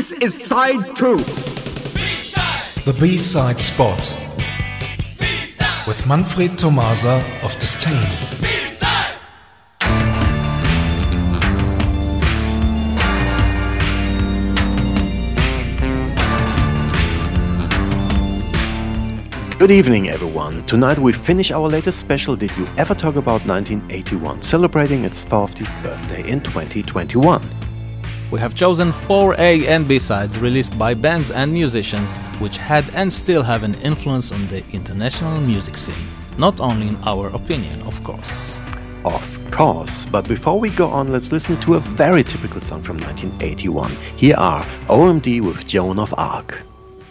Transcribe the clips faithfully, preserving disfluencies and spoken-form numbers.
This is side two. B-side. The B-side spot. B-side. With Manfred Tomasa of Disdain. B-side. Good evening, everyone. Tonight we finish our latest special Did You Ever Talk About nineteen eighty-one, celebrating its fiftieth birthday in twenty twenty-one. We have chosen four A and B-sides released by bands and musicians which had and still have an influence on the international music scene. Not only in our opinion, of course. Of course, but before we go on, let's listen to a very typical song from nineteen eighty-one. Here are O M D with Joan of Arc.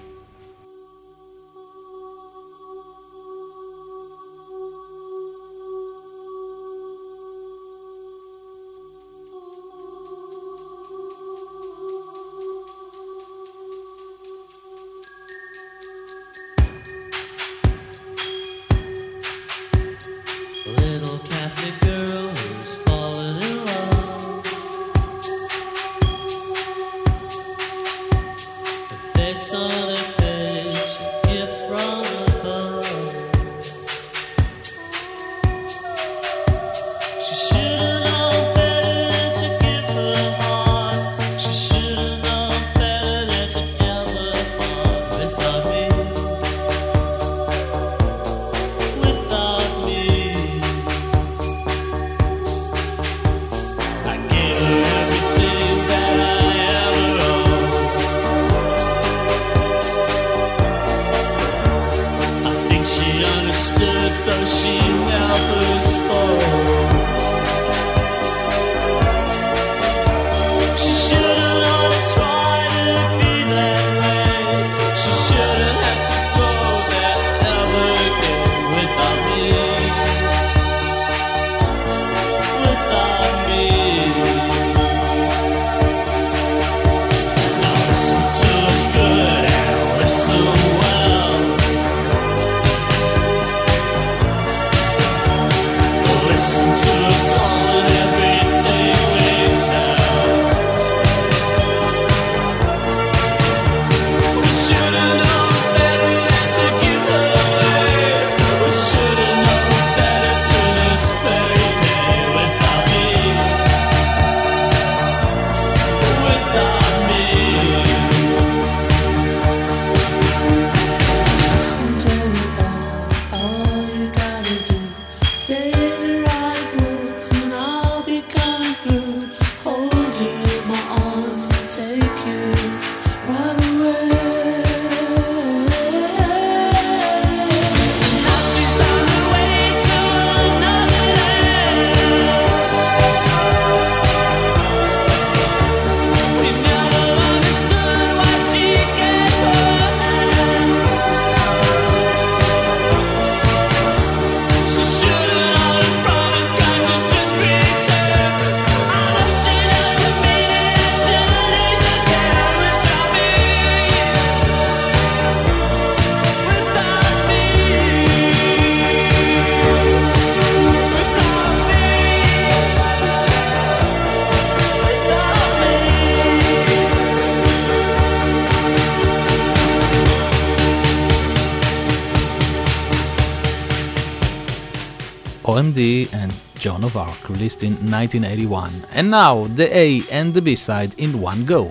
O M D and Joan of Arc, released in nineteen eighty-one. And now, the A and the B-side in one go.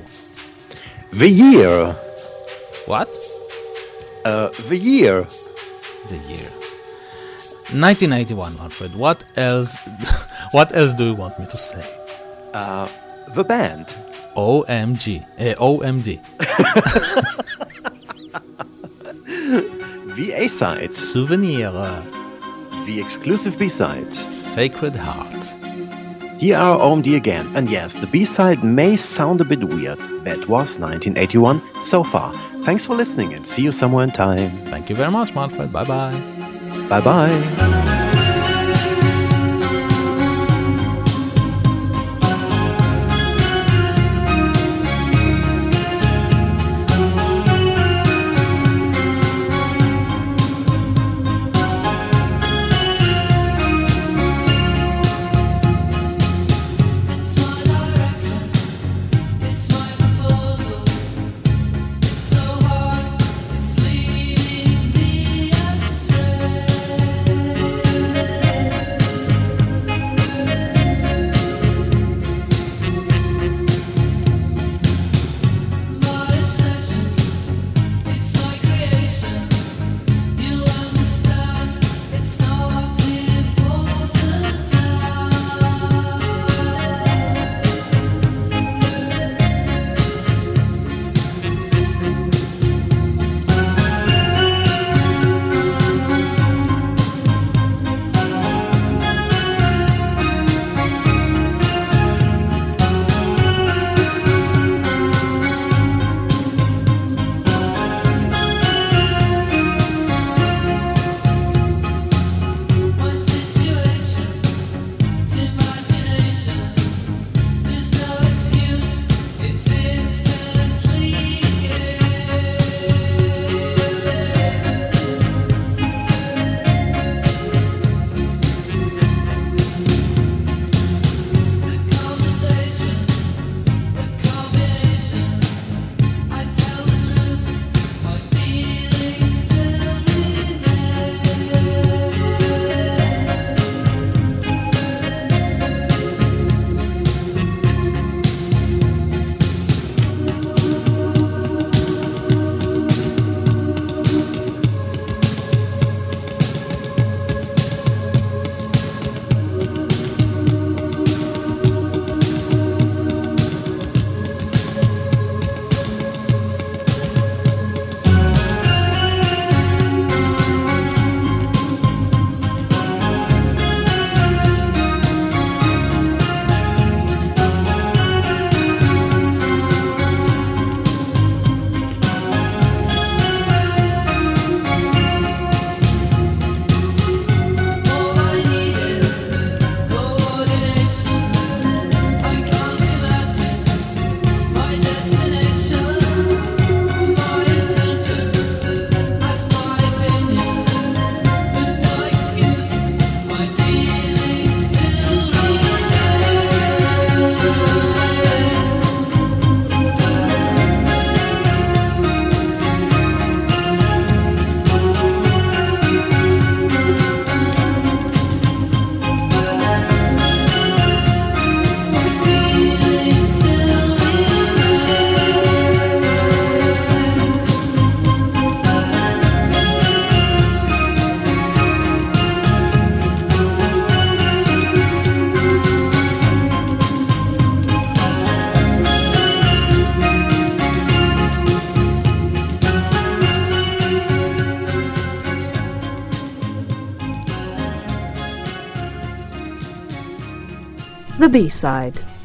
The year. What? Uh, the year. The year. nineteen eighty-one, Manfred. What else? What else do you want me to say? Uh, the band. O M G. Uh, O M D. The A-side. Souvenir. The exclusive B-side. Sacred Heart. Here are O M D again, and yes, the B-side may sound a bit weird. That was nineteen eighty-one so far. Thanks for listening and see you somewhere in time. Thank you very much, Manfred. Bye-bye. Bye-bye. It's my direction, it's my proposal. The B-side.